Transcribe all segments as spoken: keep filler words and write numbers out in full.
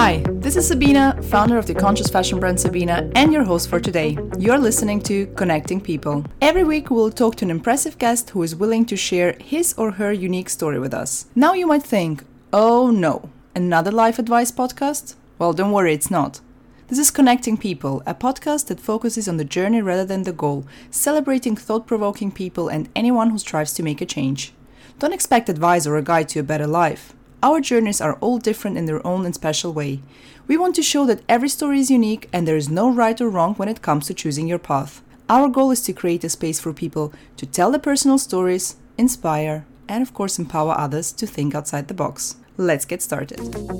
Hi, this is Sabina, founder of the conscious fashion brand Sabina, and your host for today. You're listening to Connecting People. Every week we'll talk to an impressive guest who is willing to share his or her unique story with us. Now you might think, oh no, another life advice podcast? Well, don't worry, it's not. This is Connecting People, a podcast that focuses on the journey rather than the goal, celebrating thought-provoking people and anyone who strives to make a change. Don't expect advice or a guide to a better life. Our journeys are all different in their own and special way. We want to show that every story is unique and there is no right or wrong when it comes to choosing your path. Our goal is to create a space for people to tell their personal stories, inspire, and of course empower others to think outside the box. Let's get started.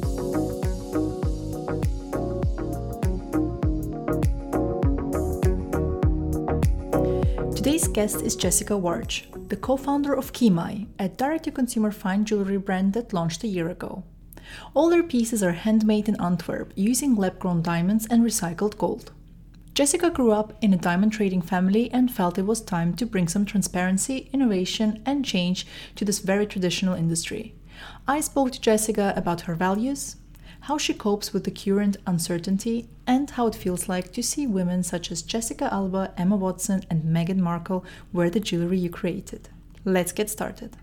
Today's guest is Jessica Warch, the co-founder of Kimai, a direct-to-consumer fine jewelry brand that launched a year ago. All their pieces are handmade in Antwerp using lab-grown diamonds and recycled gold. Jessica grew up in a diamond trading family and felt it was time to bring some transparency, innovation, and change to this very traditional industry. I spoke to Jessica about her values, how she copes with the current uncertainty, and how it feels like to see women such as Jessica Alba, Emma Watson, and Meghan Markle wear the jewelry you created. Let's get started.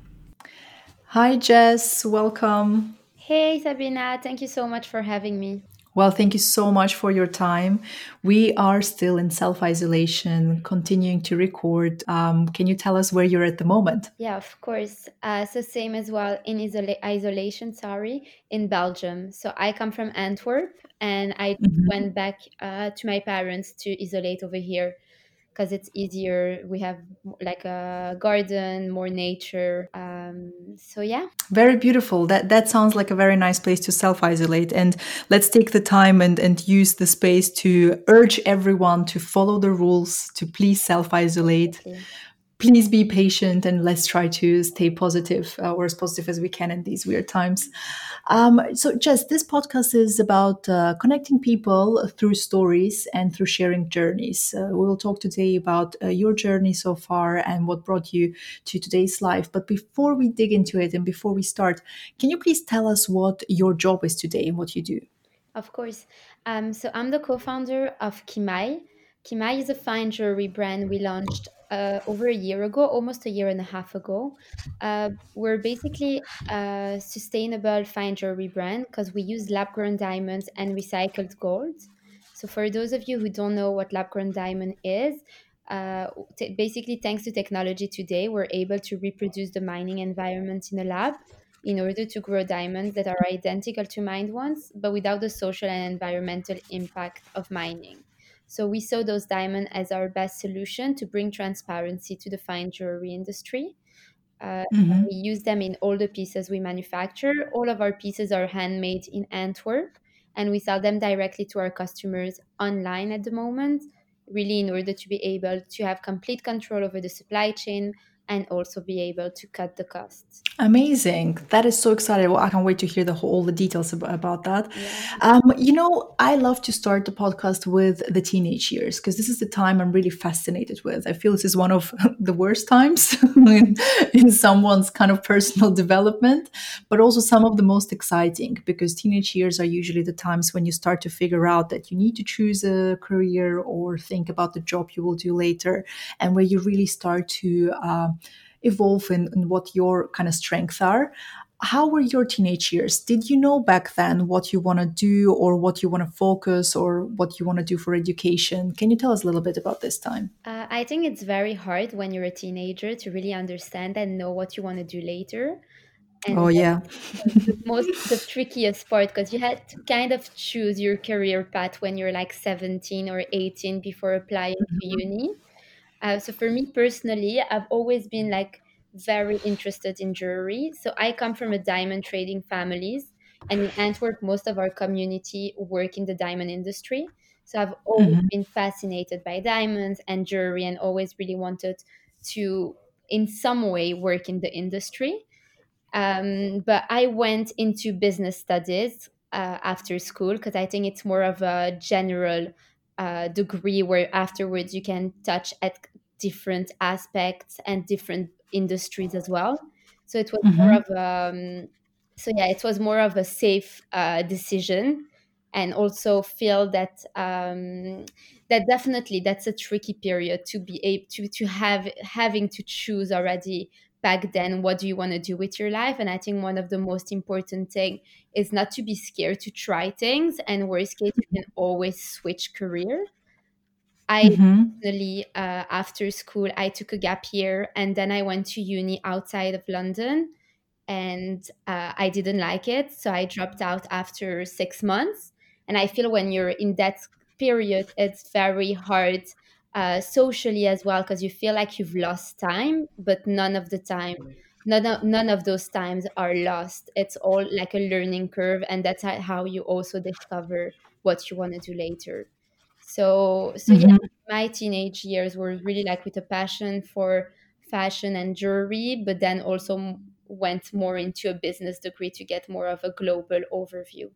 Hi, Jess. Welcome. Hey, Sabina. Thank you so much for having me. Well, thank you so much for your time. We are still in self-isolation, continuing to record. Um, can you tell us where you're at the moment? Yeah, of course. Uh, so same as well in isola- isolation, sorry, in Belgium. So I come from Antwerp and I Mhm. went back uh, to my parents to isolate over here because it's easier. We have like a garden, more nature. Um, so yeah. Very beautiful. That that sounds like a very nice place to self-isolate. And let's take the time and, and use the space to urge everyone to follow the rules, to please self-isolate. Okay. Please be patient and let's try to stay positive uh, or as positive as we can in these weird times. Um, so, Jess, this podcast is about uh, connecting people through stories and through sharing journeys. Uh, we will talk today about uh, your journey so far and what brought you to today's life. But before we dig into it and before we start, can you please tell us what your job is today and what you do? Of course. Um, so I'm the co-founder of Kimai. Kimai is a fine jewelry brand we launched uh, over a year ago, almost a year and a half ago. Uh, we're basically a sustainable fine jewelry brand because we use lab-grown diamonds and recycled gold. So for those of you who don't know what lab-grown diamond is, uh, t- basically thanks to technology today, we're able to reproduce the mining environment in a lab in order to grow diamonds that are identical to mined ones, but without the social and environmental impact of mining. So we saw those diamonds as our best solution to bring transparency to the fine jewelry industry. Uh, Mm-hmm. we use them in all the pieces we manufacture. All of our pieces are handmade in Antwerp, and we sell them directly to our customers online at the moment, really in order to be able to have complete control over the supply chain and also be able to cut the costs. Amazing. That is so exciting. Well, I can't wait to hear the whole, all the details about, about that. Yeah. Um, you know, I love to start the podcast with the teenage years because this is the time I'm really fascinated with. I feel this is one of the worst times in, in someone's kind of personal development, but also some of the most exciting because teenage years are usually the times when you start to figure out that you need to choose a career or think about the job you will do later and where you really start to uh, evolve in, in what your kind of strengths are. How were your teenage years? Did you know back then what you want to do or what you want to focus or what you want to do for education? Can you tell us a little bit about this time? Uh, I think it's very hard when you're a teenager to really understand and know what you want to do later. And Oh, yeah. the most the trickiest part because you had to kind of choose your career path when you're like seventeen or eighteen before applying to uni. Uh, so for me personally, I've always been like very interested in jewelry. So I come from a diamond trading families, and in Antwerp, most of our community work in the diamond industry. So I've always Mhm. been fascinated by diamonds and jewelry, and always really wanted to, in some way, work in the industry. Um, but I went into business studies uh, after school because I think it's more of a general uh, degree where afterwards you can touch at different aspects and different industries as well. So it was more Mhm. of um, so yeah, it was more of a safe uh, decision. and also feel that um, that definitely that's a tricky period to be able to to have having to choose already back then what do you want to do with your life. And I think one of the most important thing is not to be scared to try things, and worst case you can always switch career. I Mm-hmm. personally, uh, after school, I took a gap year and then I went to uni outside of London, and uh, I didn't like it. So I dropped out after six months. And I feel when you're in that period, it's very hard uh, socially as well, because you feel like you've lost time, but none of the time. None of, none of those times are lost. It's all like a learning curve, and that's how how you also discover what you want to do later. So, so yeah, Mm-hmm. my teenage years were really like with a passion for fashion and jewelry, but then also m- went more into a business degree to get more of a global overview.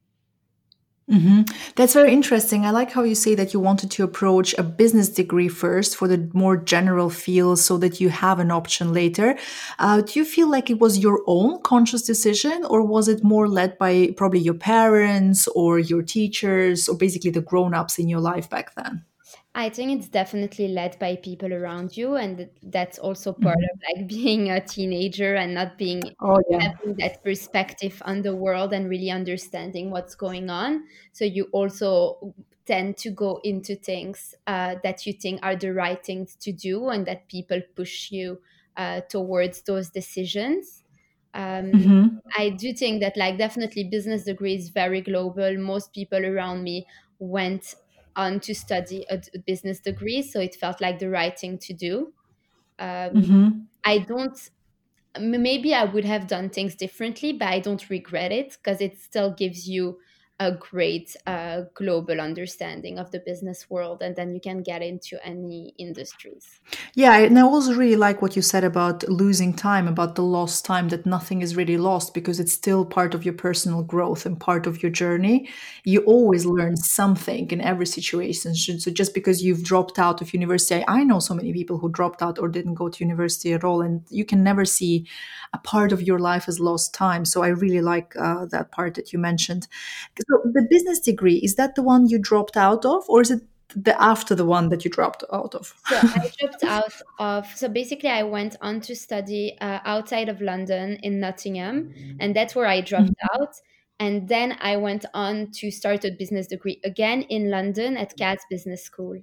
Hmm. That's very interesting. I like how you say that you wanted to approach a business degree first for the more general field so that you have an option later. Uh, do you feel like it was your own conscious decision, or was it more led by probably your parents or your teachers or basically the grown ups in your life back then? I think it's definitely led by people around you, and th- that's also part Hmm. of like being a teenager and not being Oh, yeah. having that perspective on the world and really understanding what's going on. So you also tend to go into things uh, that you think are the right things to do, and that people push you uh, towards those decisions. Um, Hmm. I do think that like definitely business degree is very global. Most people around me went on to study a d- business degree, so it felt like the right thing to do. Um, Hmm. I don't. m- Maybe I would have done things differently, but I don't regret it because it still gives you a great uh, global understanding of the business world, and then you can get into any industries. Yeah, and I also really like what you said about losing time, about the lost time, that nothing is really lost because it's still part of your personal growth and part of your journey. You always learn something in every situation. So so just because you've dropped out of university, I know so many people who dropped out or didn't go to university at all, and you can never see a part of your life as lost time. So I really like uh, that part that you mentioned. So the business degree, is that the one you dropped out of, or is it the after the one that you dropped out of? So I dropped out of. So basically, I went on to study uh, outside of London in Nottingham, and that's where I dropped out. And then I went on to start a business degree again in London at Cat's Business School.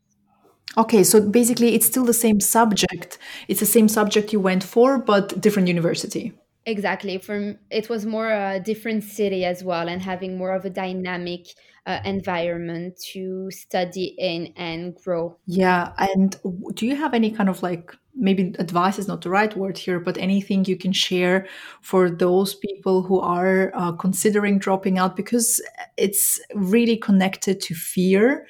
Okay, so basically it's still the same subject. It's the same subject you went for, but different university. Exactly. From it was more a different city as well, and having more of a dynamic uh, environment to study in and grow. Yeah, and w- do you have any kind of like, maybe advice is not the right word here, but anything you can share for those people who are uh, considering dropping out, because it's really connected to fear.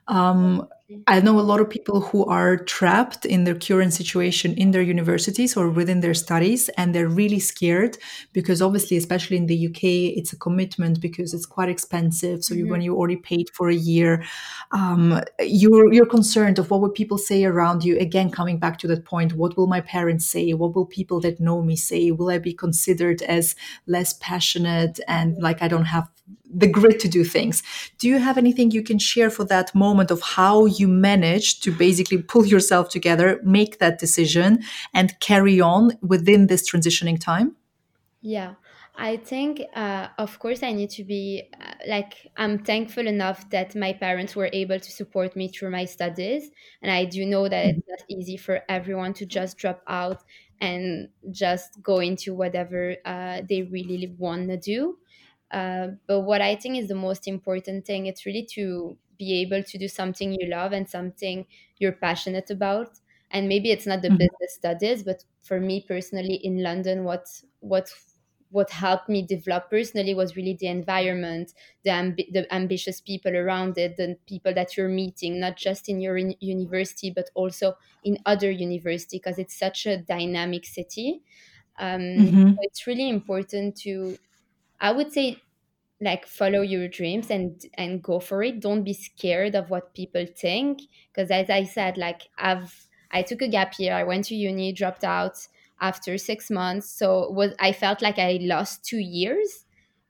Um, I know a lot of people who are trapped in their current situation in their universities or within their studies, and they're really scared because obviously, especially in the U K, it's a commitment because it's quite expensive. So you, when Mhm. you already paid for a year, um, you're you're concerned of what would people say around you. Again, coming back to that point, what will my parents say? What will people that know me say? Will I be considered as less passionate and like I don't have the grit to do things? Do you have anything you can share for that moment of how you managed to basically pull yourself together, make that decision, and carry on within this transitioning time? Yeah, I think, uh, of course, I need to be uh, like, I'm thankful enough that my parents were able to support me through my studies. And I do know that it's not easy for everyone to just drop out and just go into whatever uh, they really want to do. Uh, but what I think is the most important thing, it's really to be able to do something you love and something you're passionate about. And maybe it's not the Mhm. business studies, but for me personally in London, what what what helped me develop personally was really the environment, the, ambi- the ambitious people around it, the people that you're meeting, not just in your in- university, but also in other university, because it's such a dynamic city. Um, so Mhm. it's really important to, I would say, like follow your dreams and and go for it. Don't be scared of what people think, because as I said, like I've I took a gap year, I went to uni, dropped out after six months, so it was I felt like I lost two years.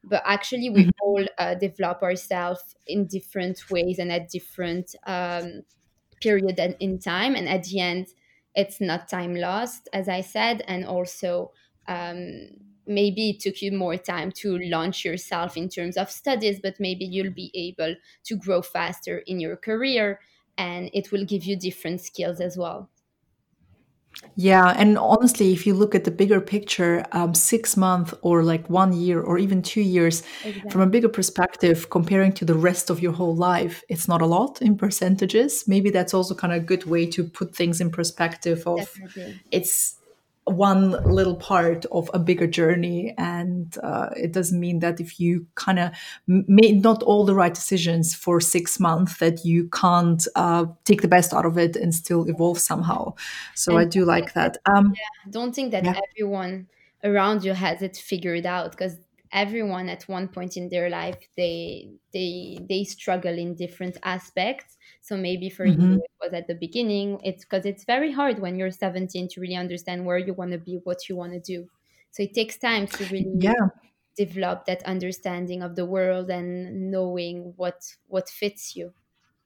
but actually we Mhm. all uh, develop ourselves in different ways and at different um, period and in time, and at the end it's not time lost, as I said. And also, um, maybe it took you more time to launch yourself in terms of studies, but maybe you'll be able to grow faster in your career, and it will give you different skills as well. Yeah, and honestly, if you look at the bigger picture, um, six months or like one year or even two years, from a Exactly. bigger perspective, comparing to the rest of your whole life, it's not a lot in percentages. Maybe that's also kind of a good way to put things in perspective of Definitely. it's one little part of a bigger journey, and uh, it doesn't mean that if you kind of made not all the right decisions for six months that you can't uh, take the best out of it and still evolve somehow. So I And do like that. Um, don't think that yeah. everyone around you has it figured out, because everyone at one point in their life they they they struggle in different aspects. So maybe for you Hmm. it was at the beginning, it's because it's very hard when you're seventeen to really understand where you want to be, what you want to do. So it takes time to really Yeah. develop that understanding of the world and knowing what what fits you.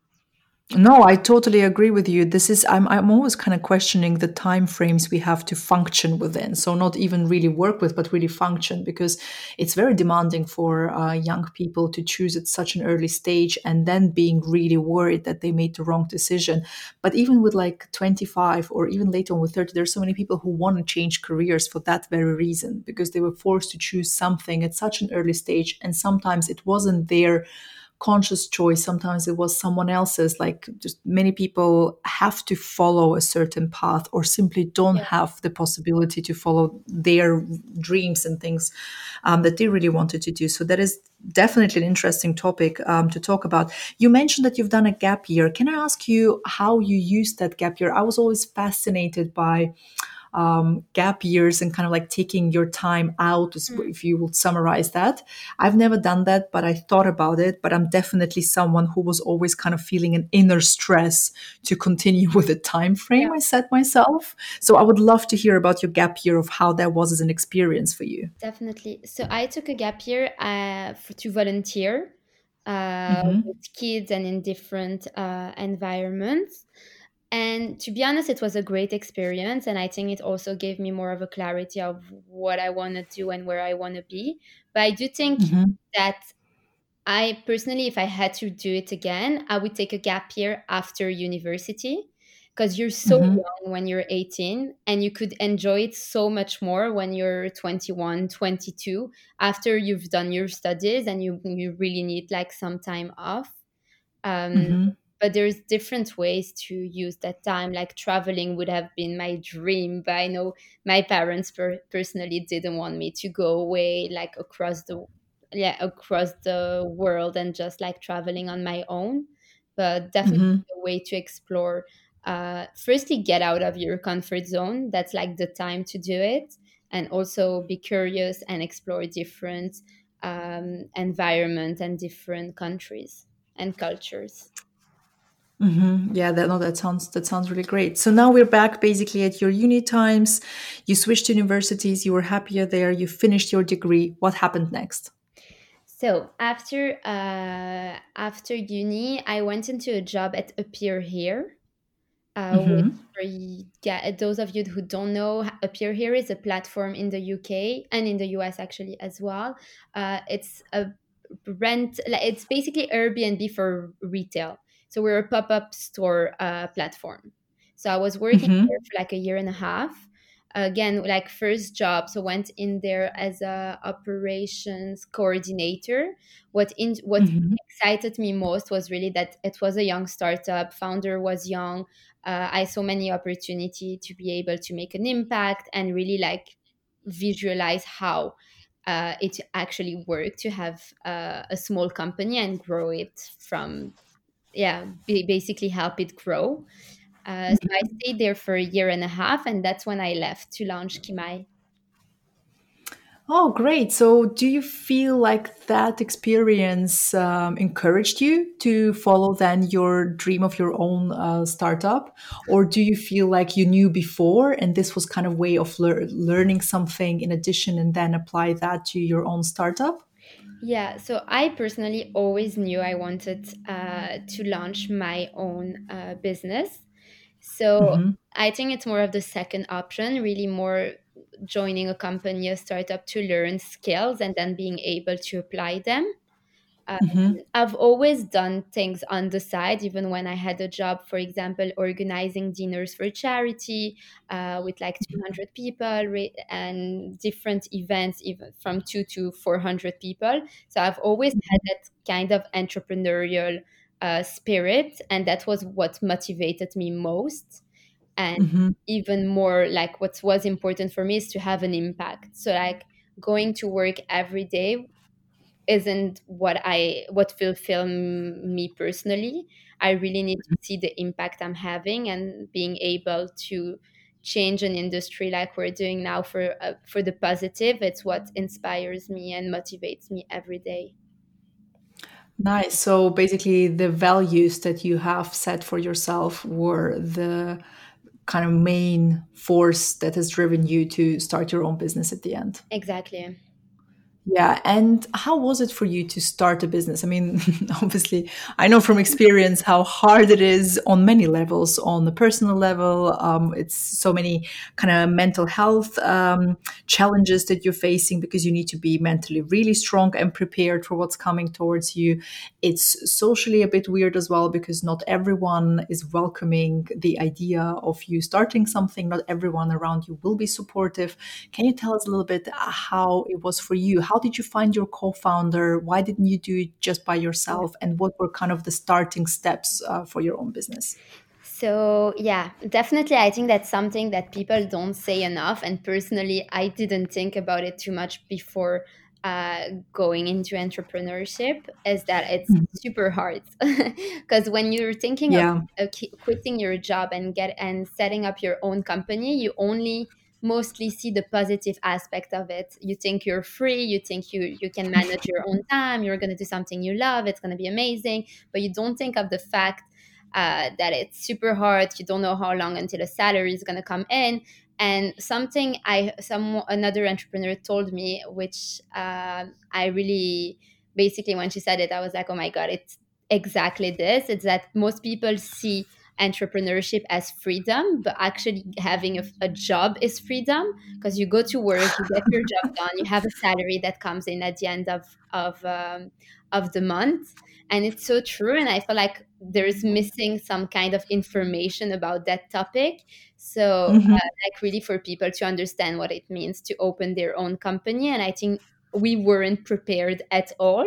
No, I totally agree with you. This is I'm I'm always kind of questioning the time frames we have to function within. So not even really work with, but really function, because it's very demanding for uh, young people to choose at such an early stage and then being really worried that they made the wrong decision. But even with like twenty-five or even later on with thirty, there's so many people who want to change careers for that very reason, because they were forced to choose something at such an early stage, and sometimes it wasn't their conscious choice, sometimes it was someone else's. Like just many people have to follow a certain path or simply don't Yeah, have the possibility to follow their dreams and things um, that they really wanted to do. So that is definitely an interesting topic um, to talk about. You mentioned that you've done a gap year. Can I ask you how you used that gap year? I was always fascinated by um, gap years and kind of like taking your time out, if you would summarize that. I've never done that, but I thought about it. But I'm definitely someone who was always kind of feeling an inner stress to continue with the time yeah, frame I set myself. So I would love to hear about your gap year, of how that was as an experience for you. definitely. So I took a gap year uh, for, to volunteer uh, with Hmm. kids and in different uh, environments. And to be honest, it was a great experience. And I think it also gave me more of a clarity of what I want to do and where I want to be. But I do think Hmm. that I personally, if I had to do it again, I would take a gap year after university, because you're so Hmm. young when you're eighteen and you could enjoy it so much more when you're twenty-one, twenty-two, after you've done your studies and you, you really need like some time off. Um, Hmm. but there's different ways to use that time. Like traveling would have been my dream, but I know my parents per- personally didn't want me to go away like across the yeah across the world and just like traveling on my own. But definitely Hmm. a way to explore. Uh, firstly, get out of your comfort zone. That's like the time to do it, and also be curious and explore different um, environment and different countries and cultures. Hmm. Yeah, that no, that sounds that sounds really great. So now we're back basically at your uni times. You switched universities. You were happier there. You finished your degree. What happened next? So after uh, after uni, I went into a job at Appear Here, uh, which Hmm. for y- yeah, those of you who don't know, Appear Here is a platform in the U K and in the U S actually as well. Uh, it's a rent, like, it's basically Airbnb for retail. So we're a pop up store uh, platform. So I was working there Hmm. for like a year and a half. Again, like first job, so went in there as a operations coordinator. What in what Hmm. excited me most was really that it was a young startup. Founder was young. uh, I saw many opportunity to be able to make an impact and really like visualize how uh, it actually worked to have uh, a small company and grow it from yeah ba- basically help it grow. Uh, so I stayed there for a year and a half, and that's when I left to launch Kimai. Oh, great. So, do you feel like that experience um, encouraged you to follow then your dream of your own uh, startup? Or do you feel like you knew before and this was kind of way of lear- learning something in addition and then apply that to your own startup? Yeah, so I personally always knew I wanted uh, to launch my own uh, business. So Mm-hmm. I think it's more of the second option, really more joining a company, a startup to learn skills and then being able to apply them. Um, Mm-hmm. I've always done things on the side, even when I had a job, for example, organizing dinners for charity uh, with like two hundred people re- and different events, even from two to four hundred people. So I've always had that kind of entrepreneurial uh, spirit, and that was what motivated me most. And Mm-hmm. even more, like what was important for me is to have an impact. So, like, going to work every day isn't what I what fulfill m- me personally. I really need to see the impact I'm having and being able to change an industry like we're doing now for uh, for the positive. It's what inspires me and motivates me every day. Nice. So basically, the values that you have set for yourself were the kind of main force that has driven you to start your own business at the end. Exactly. Yeah. And how was it for you to start a business? I mean, obviously, I know from experience how hard it is on many levels. On the personal level, um, it's so many kind of mental health um, challenges that you're facing because you need to be mentally really strong and prepared for what's coming towards you. It's socially a bit weird as well because not everyone is welcoming the idea of you starting something. Not everyone around you will be supportive. Can you tell us a little bit how it was for you? How did you find your co-founder? Why didn't you do it just by yourself? And what were kind of the starting steps uh, for your own business? So, yeah, definitely. I think that's something that people don't say enough. And personally, I didn't think about it too much before uh, going into entrepreneurship, is that it's Mhm. super hard. Because when you're thinking of Yeah. uh, qui- quitting your job and get and setting up your own company, you only mostly see the positive aspect of it. You think you're free, you think you you can manage your own time, you're going to do something you love, it's going to be amazing, but you don't think of the fact uh, that it's super hard. You don't know how long until a salary is going to come in. And something I some another entrepreneur told me, which uh, I really basically when she said it, I was like, oh my god, it's exactly this. It's that most people see entrepreneurship as freedom, but actually having a, a job is freedom because you go to work, you get your job done, you have a salary that comes in at the end of of um, of the month, and it's so true. And I feel like there's missing some kind of information about that topic. So Mhm. uh, like really for people to understand what it means to open their own company, and I think we weren't prepared at all.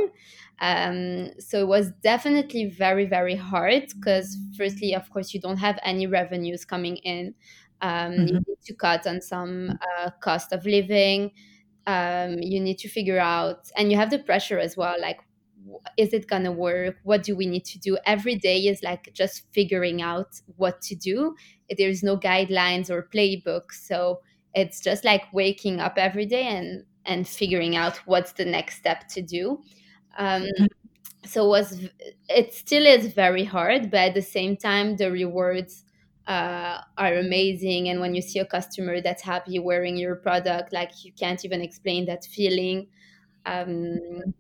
Um, so it was definitely very very hard because firstly, of course, you don't have any revenues coming in. Um, you Mhm. need to cut on some uh, cost of living. Um, you need to figure out, and you have the pressure as well, like w- is it gonna work, what do we need to do every day is like just figuring out what to do. There's no guidelines or playbook, so it's just like waking up every day and and figuring out what's the next step to do. um, so it was it still is very hard, but at the same time the rewards uh, are amazing, and when you see a customer that's happy wearing your product, like you can't even explain that feeling. um,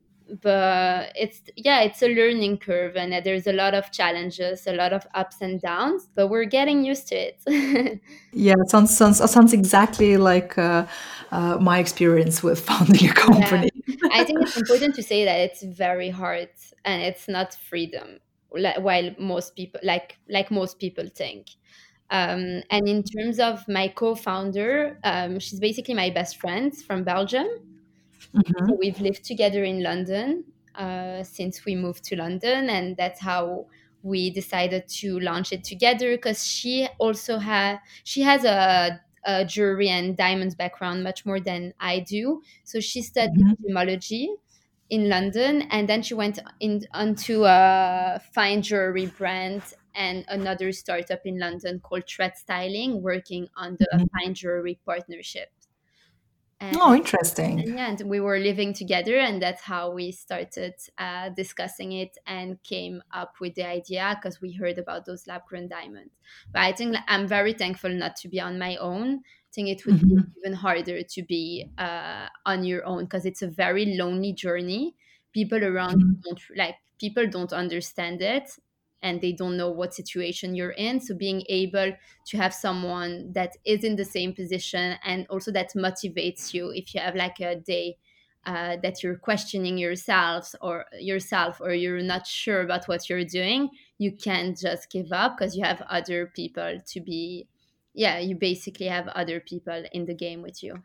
but it's yeah, it's a learning curve, and uh, there's a lot of challenges, a lot of ups and downs, but we're getting used to it. Yeah, it sounds sounds sounds exactly like uh, uh, my experience with founding a Yeah, company. I think it's important to say that it's very hard and it's not freedom, li- while most people like like most people think. Um, and in terms of my co-founder, um, she's basically my best friend from Belgium. So Mhm. we've lived together in London uh, since we moved to London, and that's how we decided to launch it together. Because she also had she has a, a jewelry and diamonds background much more than I do. So she studied Mhm. gemology in London, and then she went in onto a fine jewelry brand and another startup in London called Thread Styling, working on the Mhm. fine jewelry partnership. Oh, interesting. And yeah, and we were living together, and that's how we started uh, discussing it and came up with the idea because we heard about those lab grown diamonds. But I think like, I'm very thankful not to be on my own think it would be Mhm. even harder to be uh, on your own, because it's a very lonely journey. People around you Mhm. don't like people don't understand it, and they don't know what situation you're in. So being able to have someone that is in the same position, and also that motivates you if you have like a day uh, that you're questioning yourselves or yourself, or you're not sure about what you're doing, you can't just give up, because you have other people to be, yeah, you basically have other people in the game with you.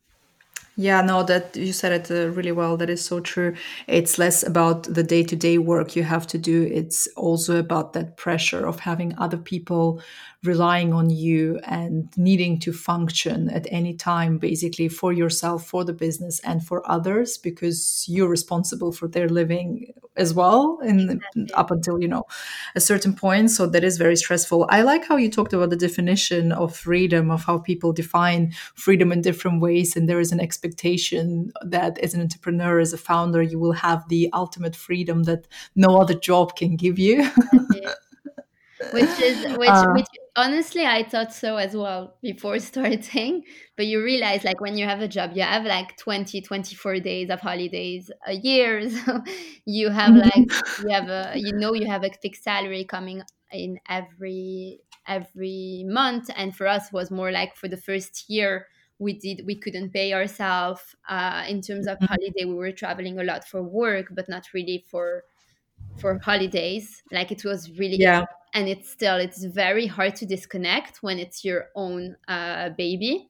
Yeah, no, that you said it uh, really well. That is so true. It's less about the day to day work you have to do. It's also about that pressure of having other people relying on you and needing to function at any time, basically for yourself, for the business, and for others, because you're responsible for their living as well, and Exactly. up until, you know, a certain point. So that is very stressful. I like how you talked about the definition of freedom, of how people define freedom in different ways. And there is an expectation that as an entrepreneur, as a founder, you will have the ultimate freedom that no other job can give you. Exactly. which is which uh, which honestly I thought so as well before starting. But you realize, like, when you have a job, you have like twenty, twenty-four days of holidays a year. So you have like you have a you know you have a fixed salary coming in every every month. And for us was more like, for the first year, we did we couldn't pay ourselves uh, in terms of holiday. We were traveling a lot for work, but not really for for holidays. Like, it was really, yeah. and it's still, it's very hard to disconnect when it's your own uh, baby.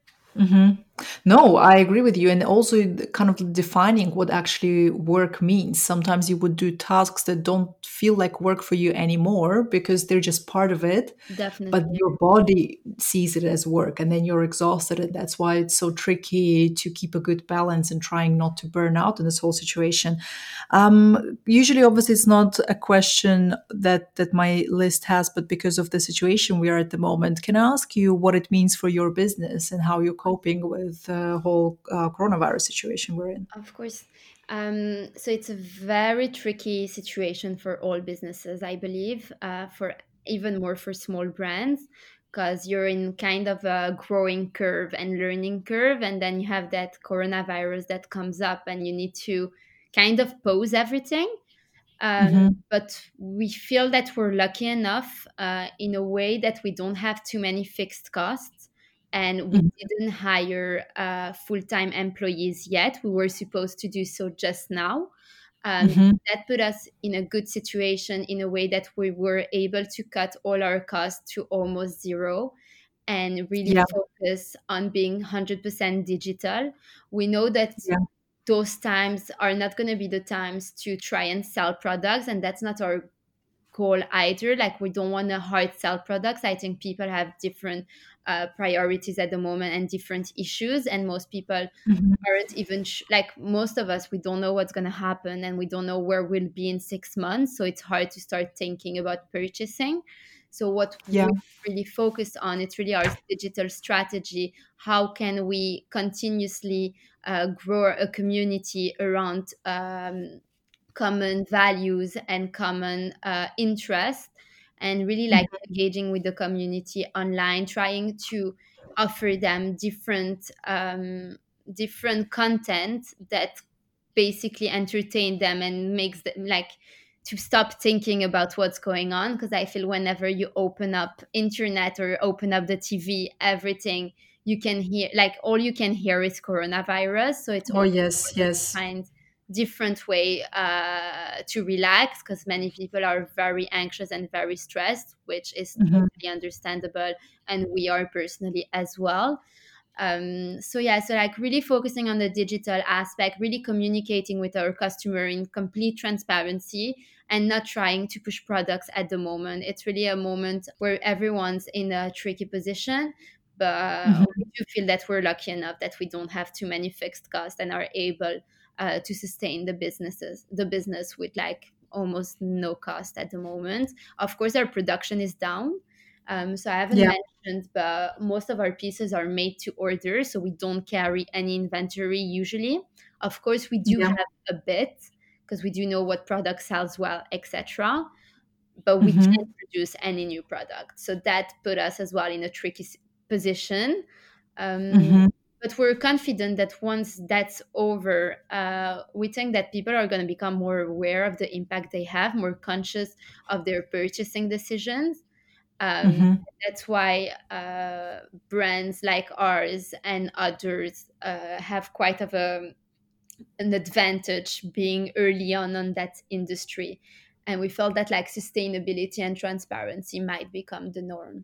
hmm No, I agree with you. And also the kind of defining what actually work means. Sometimes you would do tasks that don't feel like work for you anymore because they're just part of it, but Definitely. your body sees it as work, and then you're exhausted. And that's why it's so tricky to keep a good balance and trying not to burn out in this whole situation. Um, usually, obviously, it's not a question that that my list has, but because of the situation we are at the moment, can I ask you what it means for your business and how you're coping with the whole uh, coronavirus situation we're in? Of course. Um, so it's a very tricky situation for all businesses, I believe, uh, for even more for small brands, because you're in kind of a growing curve and learning curve, and then you have that coronavirus that comes up, and you need to kind of pause everything. Um, Hmm. but we feel that we're lucky enough uh, in a way that we don't have too many fixed costs, and we didn't hire uh, full-time employees yet. We were supposed to do so just now. Um, Hmm. that put us in a good situation in a way that we were able to cut all our costs to almost zero and really Yeah. focus on being one hundred percent digital. We know that Yeah. those times are not going to be the times to try and sell products, and that's not our goal either. Like, we don't want to hard sell products. I think people have different uh, priorities at the moment and different issues, and most people Hmm. aren't even sh- like, most of us, we don't know what's going to happen, and we don't know where we'll be in six months, so it's hard to start thinking about purchasing. So what Yeah. we really focused on, it's really our digital strategy. How can we continuously uh, grow a community around um, common values and common uh, interests, and really like engaging with the community online, trying to offer them different um, different content that basically entertain them and makes them like to stop thinking about what's going on. Because I feel whenever you open up internet or open up the TV, everything you can hear, like, all you can hear is coronavirus. So it's Oh, also yes. important to Yes. find different way uh, to relax, because many people are very anxious and very stressed, which is Hmm. totally understandable, and we are personally as well. Um, so yeah, so like really focusing on the digital aspect, really communicating with our customer in complete transparency, and not trying to push products at the moment. It's really a moment where everyone's in a tricky position, but we Hmm. do feel that we're lucky enough that we don't have too many fixed costs and are able uh, to sustain the businesses the business with like almost no cost at the moment. Of course, our production is down. Um, so I haven't Yeah. mentioned, but most of our pieces are made to order, so we don't carry any inventory usually. Of course, we do Yeah. have a bit, because we do know what product sells well, et cetera. But we can't Hmm. produce any new product, so that put us as well in a tricky s- position. Um, Mm-hmm. but we're confident that once that's over, uh, we think that people are going to become more aware of the impact they have, more conscious of their purchasing decisions. Um, Mm-hmm. that's why uh, brands like ours and others uh, have quite of a, an advantage being early on on that industry. And we felt that like sustainability and transparency might become the norm.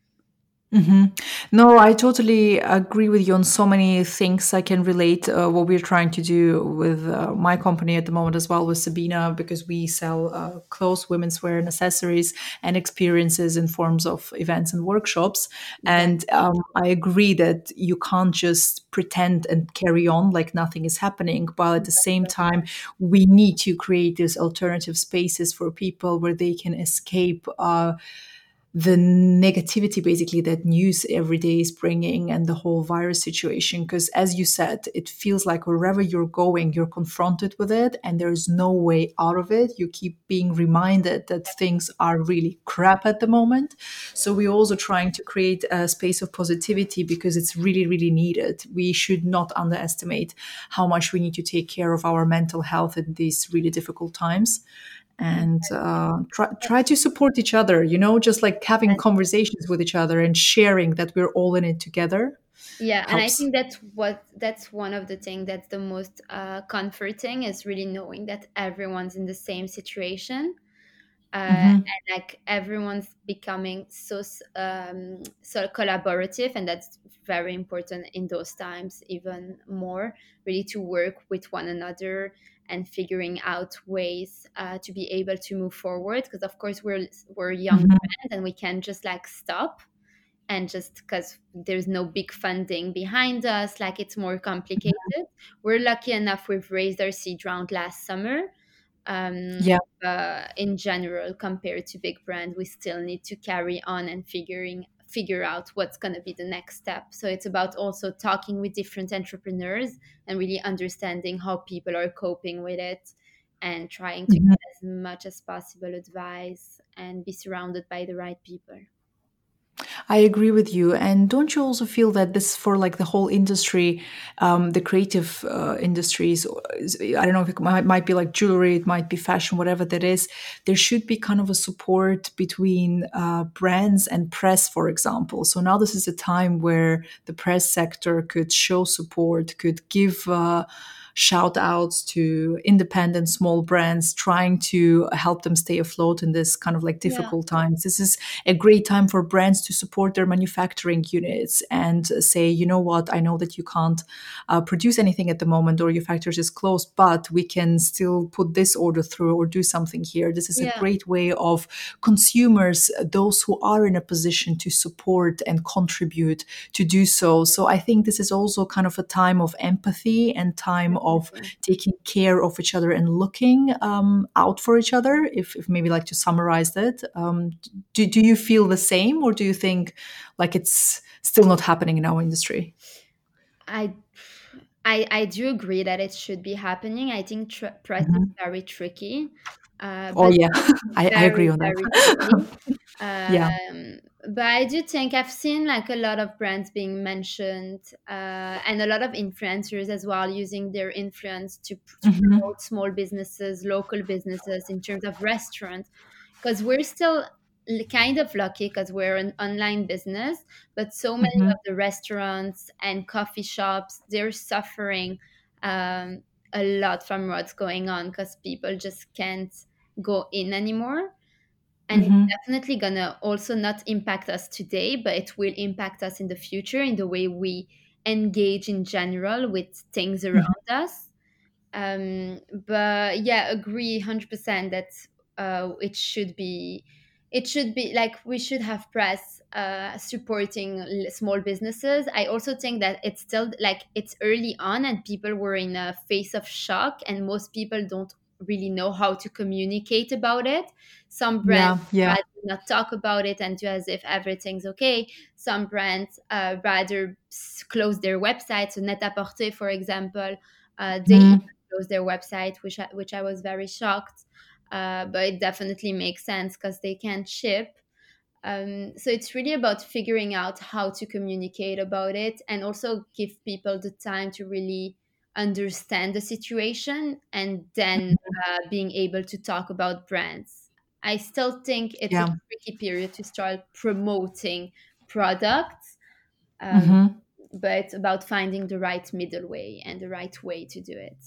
hmm No, I totally agree with you on so many things. I can relate uh, what we're trying to do with uh, my company at the moment as well with Sabina, because we sell uh, clothes, women's wear, and accessories, and experiences in forms of events and workshops. And Exactly. um, I agree that you can't just pretend and carry on like nothing is happening, while at the same time, we need to create these alternative spaces for people where they can escape. Uh, the negativity basically that news every day is bringing and the whole virus situation, because as you said, it feels like wherever you're going you're confronted with it and there's no way out of it. You keep being reminded that things are really crap at the moment. So we're also trying to create a space of positivity because it's really really needed. We should not underestimate how much we need to take care of our mental health in these really difficult times, and uh, try, try to support each other, you know, just like having conversations with each other and sharing that we're all in it together Yeah, and I helps. think that's what that's one of the things that's the most uh, comforting is really knowing that everyone's in the same situation, uh, Hmm. and like everyone's becoming so s- um, so collaborative, and that's very important in those times even more. Really to work with one another and figuring out ways uh, to be able to move forward. Because of course we're we're young Hmm. brands and we can't just like stop and just because there's no big funding behind us, like it's more complicated. We're lucky enough we've raised our seed round last summer. Um, Yeah. but in general, compared to big brand, we still need to carry on and figuring figure out what's going to be the next step. So it's about also talking with different entrepreneurs and really understanding how people are coping with it and trying to Mhm. get as much as possible advice and be surrounded by the right people. I agree with you. And don't you also feel that this for like the whole industry, um, the creative uh, industries, or is- I don't know if it might, might be like jewelry, it might be fashion, whatever that is, there should be kind of a support between uh, brands and press, for example. So now this is a time where the press sector could show support, could give uh, shout outs to independent small brands, trying to help them stay afloat in this kind of like Yeah. difficult times. This is a great time for brands to support their manufacturing units and say, you know what, I know that you can't uh, produce anything at the moment or your factory is closed, but we can still put this order through or do something here. This is a Yeah. great way of consumers, those who are in a position to support and contribute, to do so. So I think this is also kind of a time of empathy and time of Definitely. taking care of each other and looking um, out for each other, if, if maybe like to summarize that. Um, do, do you feel the same, or do you think like it's still not happening in our industry? I I I do agree that it should be happening. I think tr- press is Mhm. very tricky, uh, Oh but yeah, I, I agree very on very that. tricky. Yeah. Um, but I do think I've seen like a lot of brands being mentioned, uh, and a lot of influencers as well using their influence to, to Hmm. promote small businesses, local businesses in terms of restaurants, because we're still l- kind of lucky because we're an online business, but so many Hmm. of the restaurants and coffee shops they're suffering um, a lot from what's going on because people just can't go in anymore, and it's Hmm. definitely gonna also not impact us today, but it will impact us in the future in the way we engage in general with things around us. Um, but yeah, agree one hundred percent that uh, it should be it should be like we should have press uh, supporting l- small businesses. I also think that it's still like it's early on and people were in a phase of shock and most people don't really know how to communicate about it. Some brands Yeah. Yeah. rather not talk about it and do as if everything's okay. Some brands uh, rather s- close their websites. So Net-a-Porter, for example, uh, they Mhm. closed their website, which I, which I was very shocked. Uh, but it definitely makes sense because they can't ship. Um, so it's really about figuring out how to communicate about it and also give people the time to really understand the situation and then uh, being able to talk about brands. I still think it's a Yeah. tricky period to start promoting products, um, Hmm. but about finding the right middle way and the right way to do it.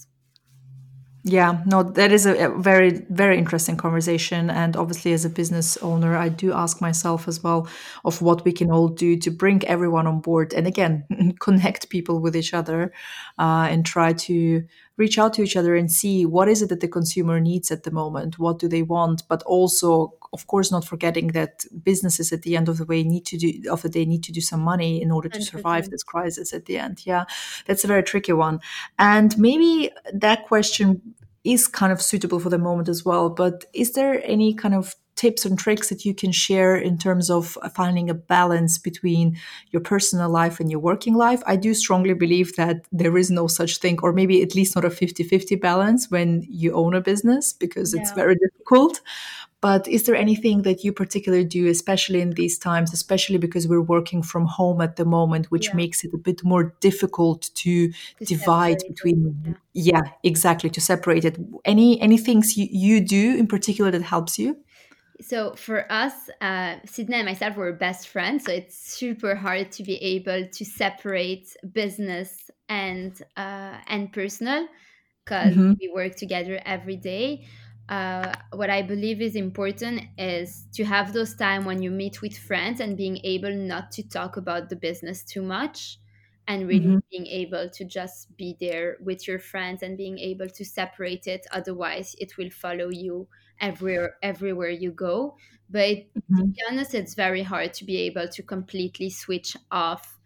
Yeah, no, that is a, a very, very interesting conversation. And obviously, as a business owner, I do ask myself as well of what we can all do to bring everyone on board and again, connect people with each other uh, and try to reach out to each other and see what is it that the consumer needs at the moment, what do they want, but also, of course, not forgetting that businesses at the end of the way need to do of the day need to do some money in order to survive one hundred percent. this crisis at the end. Yeah, that's a very tricky one. And maybe that question is kind of suitable for the moment as well. But is there any kind of tips and tricks that you can share in terms of finding a balance between your personal life and your working life? I do strongly believe that there is no such thing, or maybe at least not a fifty-fifty balance when you own a business, because it's Yeah. very difficult. But is there anything that you particularly do, especially in these times, especially because we're working from home at the moment, which Yeah. makes it a bit more difficult to To divide separate it. between, Yeah. yeah, exactly, to separate it. Any any things you, you do in particular that helps you? So for us, uh, Sydney and myself were best friends. So it's super hard to be able to separate business and uh, and personal because Hmm. we work together every day. Uh, what I believe is important is to have those time when you meet with friends and being able not to talk about the business too much and really Hmm. being able to just be there with your friends and being able to separate it. Otherwise, it will follow you everywhere everywhere you go. But to Hmm. be honest, it's very hard to be able to completely switch off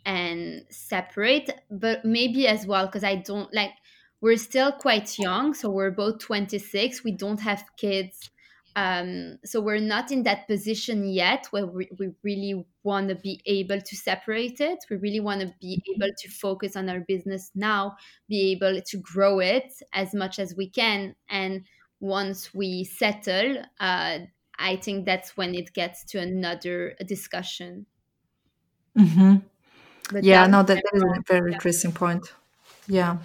and separate. But maybe as well because I don't like we're still quite young, so we're both twenty-six. We don't have kids. Um, so we're not in that position yet where we, we really want to be able to separate it. We really want to be able to focus on our business now, be able to grow it as much as we can. And once we settle, uh, I think that's when it gets to another discussion. Hmm. But Yeah, that no, that, I'm that is wrong. a very Yeah. interesting point. Yeah.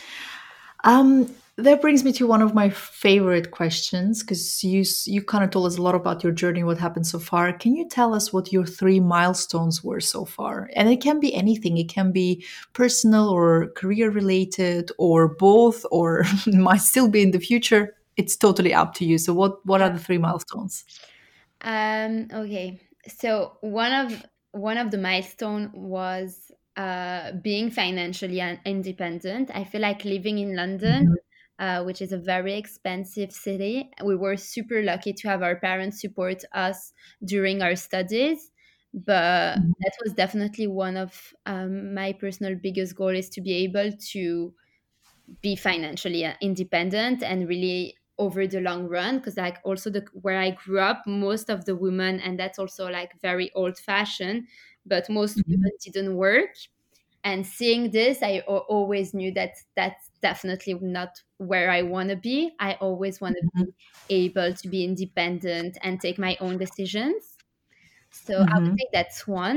Um, that brings me to one of my favorite questions because you s- you kind of told us a lot about your journey, what happened so far. Can you tell us what your three milestones were so far? And it can be anything. It can be personal or career related or both, or might still be in the future. It's totally up to you. So, what what are the three milestones? Um, okay. So one of one of the milestone was uh, being financially un- independent. I feel like living in London, Mhm. uh, which is a very expensive city. We were super lucky to have our parents support us during our studies, but Mhm. that was definitely one of um, my personal biggest goal is to be able to be financially uh, independent and really over the long run because like also the where I grew up most of the women and that's also like very old fashioned but most Mhm. women didn't work and seeing this I a- always knew that that's definitely not where I want to be. I always want to Mhm. be able to be independent and take my own decisions, so I would Mhm. say that's one.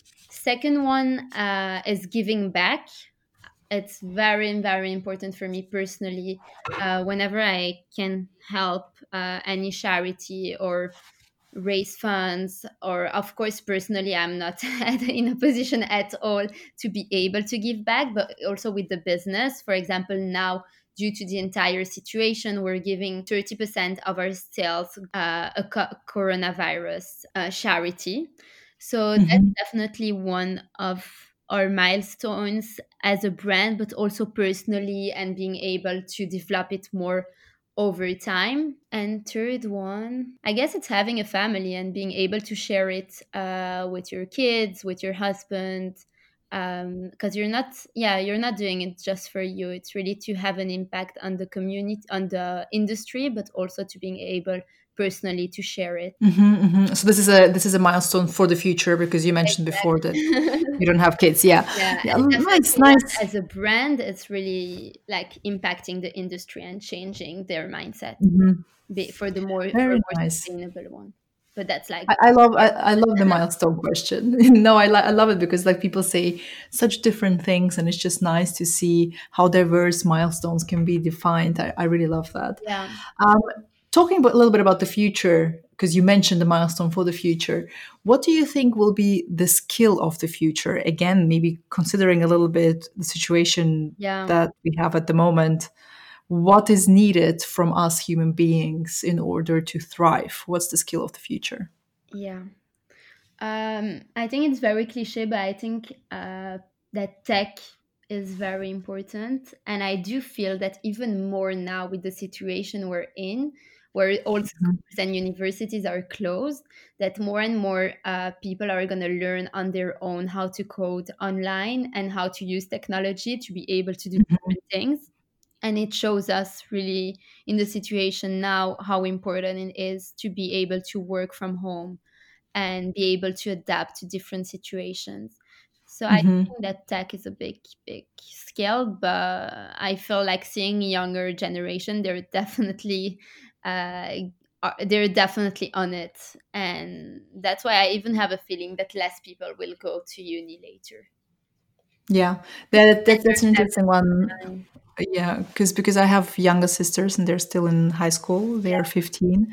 Second one uh, is giving back. It's very very important for me personally. Uh, whenever I can help uh, any charity or raise funds, or of course personally I'm not at- in a position at all to be able to give back, but also with the business, for example, now due to the entire situation we're giving thirty percent of our sales uh, a co- coronavirus uh, charity. So that's Mhm. definitely one of our milestones as a brand, but also personally, and being able to develop it more over time. And third one, I guess it's having a family and being able to share it uh, with your kids, with your husband. Because you're not, yeah, you're not doing it just for you. It's really to have an impact on the community, on the industry, but also to being able personally to share it. Mhm. Mhm. So this is a this is a milestone for the future because you mentioned before that Exactly. you don't have kids. Yeah, Yeah, yeah, and nice, definitely one nice. as a brand, it's really like impacting the industry and changing their mindset Mhm. be- for the more for Very a more nice. sustainable one. but that's like I, I love I, I love the milestone question. No, I, li- I love it because like people say such different things, and it's just nice to see how diverse milestones can be defined. I, I really love that. yeah. Um, Talking about, a little bit about the future, because you mentioned the milestone for the future. What do you think will be the skill of the future? Again, maybe considering a little bit the situation Yeah, that we have at the moment. What is needed from us human beings in order to thrive? What's the skill of the future? yeah. Um, I think it's very cliche, but I think uh, that tech is very important. And I do feel that even more now with the situation we're in, where all Mhm. schools and universities are closed, that more and more uh, people are going to learn on their own how to code online and how to use technology to be able to do Mhm. different things. And it shows us really in the situation now how important it is to be able to work from home and be able to adapt to different situations. So I Mhm. think that tech is a big, big skill, but I feel like seeing younger generation, they're definitely, uh, are- they're definitely on it, and that's why I even have a feeling that less people will go to uni later. Yeah, that, And that that's an interesting one. learn everything. Yeah, because because I have younger sisters and they're still in high school. They are fifteen,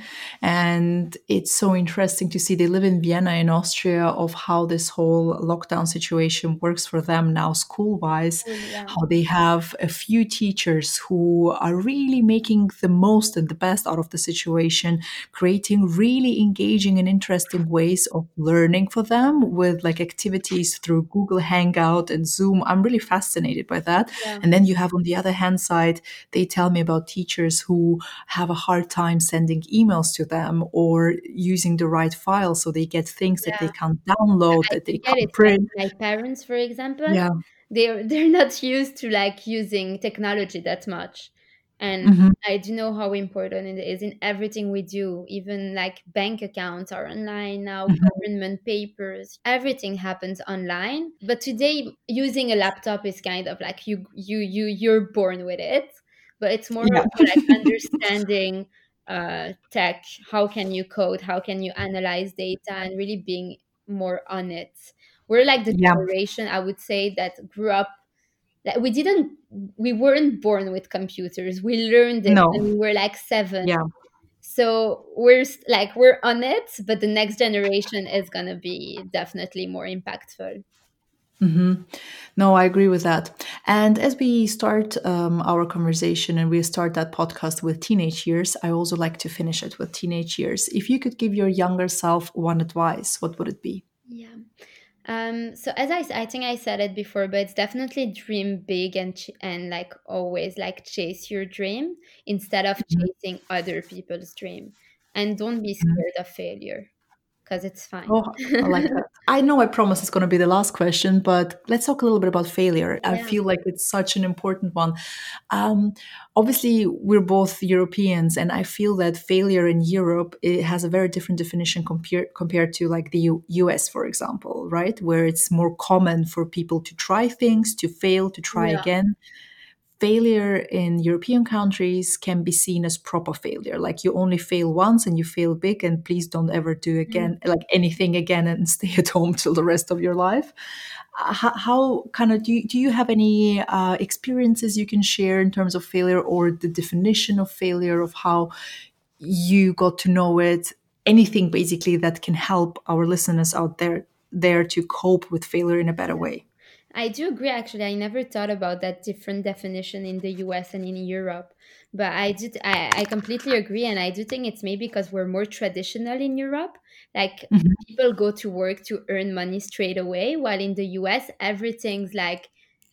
and it's so interesting to see. They live in Vienna in Austria. Of how this whole lockdown situation works for them now, school wise. Cool, yeah, How they have a few teachers who are really making the most and the best out of the situation, creating really engaging and interesting ways of learning for them with like activities through Google Hangout and Zoom. I'm really fascinated by that. yeah, And then you have on the other hand side, they tell me about teachers who have a hard time sending emails to them or using the right file. So they get things that they yeah. can't download, I that do they get it. can't print. Like my parents, for example, Yeah. they're they're not used to like using technology that much, and Hmm. I do know how important it is in everything we do. Even like bank accounts are online now, Hmm. government papers, everything happens online. But today, using a laptop is kind of like you you you you're born with it, but it's more Yeah. also like understanding uh, tech. How can you code? How can you analyze data and really being more on it? We're like the Yeah. generation, I would say, that grew up, that we didn't we weren't born with computers. We learned it when No. we were like seven. Yeah. So we're s- like we're on it, but the next generation is gonna be definitely more impactful. Hmm. No, I agree with that. And as we start um, our conversation and we start that podcast with teenage years, I also like to finish it with teenage years. If you could give your younger self one advice, what would it be? Yeah. Um, so as I, s- I think I said it before, but it's definitely dream big and ch- and like always like chase your dream instead of Mhm. chasing other people's dream, and don't be Mhm. scared of failure because it's fine. Oh, I like that. I know I promise it's going to be the last question, but let's talk a little bit about failure. I Yeah, feel like it's such an important one. Um, Obviously, we're both Europeans, and I feel that failure in Europe it has a very different definition compared compared to like the U- US, for example, right? Where it's more common for people to try things, to fail, to try yeah, again. Failure in European countries can be seen as proper failure. Like you only fail once and you fail big, and please don't ever do mm, again, like anything again, and stay at home till the rest of your life. Uh, how, how kind of do you, do you have any uh, experiences you can share in terms of failure or the definition of failure of how you got to know it? Anything basically that can help our listeners out there there to cope with failure in a better yeah. way. I do agree. Actually, I never thought about that different definition in the U S and in Europe, but I did. I, I completely agree, and I do think it's maybe because we're more traditional in Europe. Like Mhm. people go to work to earn money straight away, while in the U S everything's like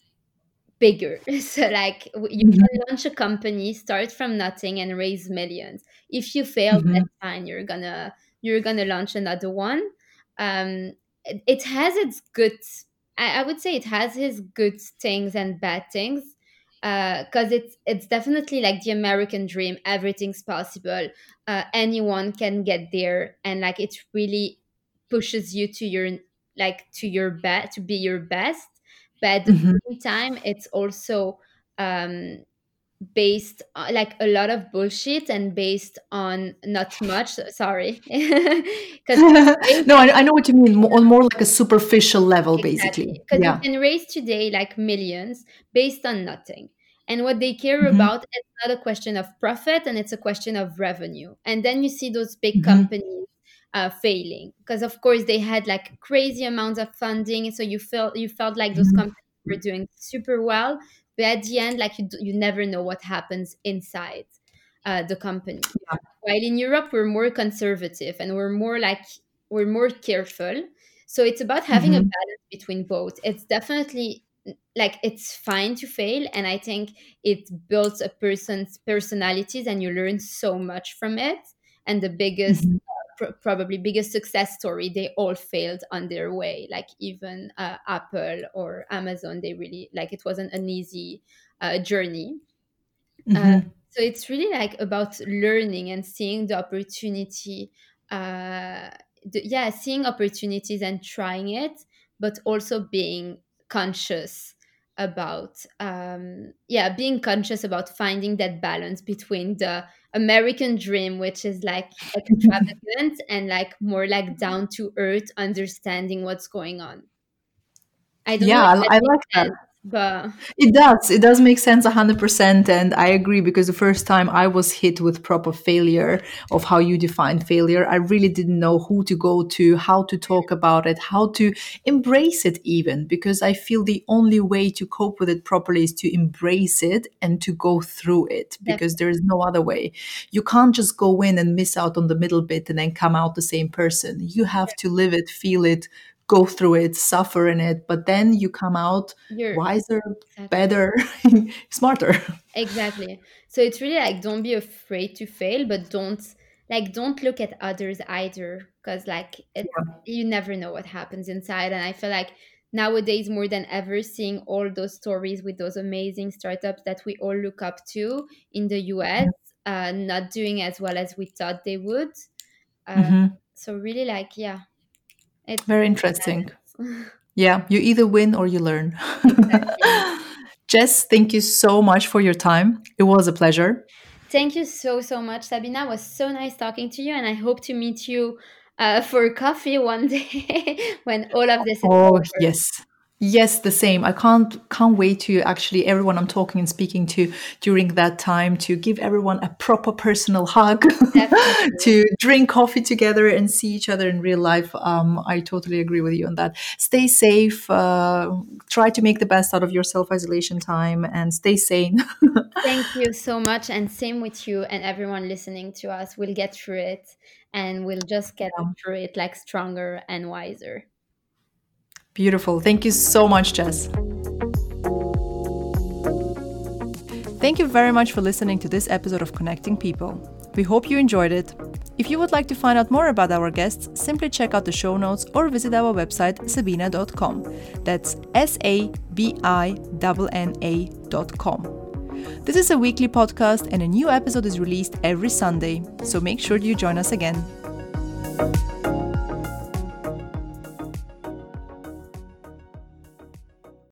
bigger. So like w- you Mhm. can launch a company, start from nothing and raise millions. If you fail, Mhm. that's fine. You're gonna you're gonna launch another one. Um it, it has its good I, I would say it has its good things and bad things. Uh, cause it's it's definitely like the American dream. Everything's possible. Uh, anyone can get there, and like it really pushes you to your like to your best to be your best. But at the Mhm. same time, it's also um, based on, like, a lot of bullshit and based on not much. Sorry, because No, I, I know what you mean. Mo- On more like a superficial level, basically. exactly, because you Yeah. can raise today like millions based on nothing. And what they care Hmm. about is not a question of profit, and it's a question of revenue. And then you see those big Hmm. companies uh, failing because, of course, they had like crazy amounts of funding. So you felt you felt like those Hmm. companies were doing super well, but at the end, like you, d- you never know what happens inside uh, the company. Yeah. While in Europe, we're more conservative and we're more like we're more careful. So it's about having a Hmm. balance between both. It's definitely like it's fine to fail, and I think it builds a person's personalities, and you learn so much from it. And the biggest Hmm. pr- probably biggest success story, they all failed on their way, like even uh, Apple or Amazon. They really, like, it wasn't an easy uh, journey. uh, Hmm. so it's really like about learning and seeing the opportunity, uh, the, yeah, seeing opportunities and trying it, but also being conscious about, um, yeah, being conscious about finding that balance between the American dream, which is like extravagant, and like more like down to earth, understanding what's going on. I don't know Yeah, if that I, I makes like that. sense, but It does. It does make sense one hundred percent. And I agree because the first time I was hit with proper failure of how you define failure, I really didn't know who to go to, how to talk about it, how to embrace it even, because I feel the only way to cope with it properly is to embrace it and to go through it because there is no other way. You can't just go in and miss out on the middle bit and then come out the same person. You have to live it, feel it, go through it, suffer in it, but then you come out you're wiser, exactly. better, smarter. Exactly. So it's really like don't be afraid to fail, but don't like don't look at others either, because like it you never know what happens inside. And I feel like nowadays more than ever, seeing all those stories with those amazing startups that we all look up to in the U S, uh, not doing as well as we thought they would. Uh, Hmm. so really, like, yeah, it's Very about interesting. balance. Yeah, you either win or you learn. Exactly. Jess, thank you so much for your time. It was a pleasure. Thank you so, so much, Sabina. It was so nice talking to you, and I hope to meet you uh, for coffee one day when all of this is Oh, over. yes. Yes, the same. I can't can't wait to actually everyone I'm talking and speaking to during that time to give everyone a proper personal hug, Definitely. to drink coffee together and see each other in real life. Um, I totally agree with you on that. Stay safe. Uh, try to make the best out of your self isolation time and stay sane. Thank you so much, and same with you and everyone listening to us. We'll get through it, and we'll just get through it like stronger and wiser. Beautiful. Thank you so much, Jess. Thank you very much for listening to this episode of Connecting People. We hope you enjoyed it. If you would like to find out more about our guests, simply check out the show notes or visit our website sabina dot com. That's S A B I N N A dot com. This is a weekly podcast and a new episode is released every Sunday, so make sure you join us again.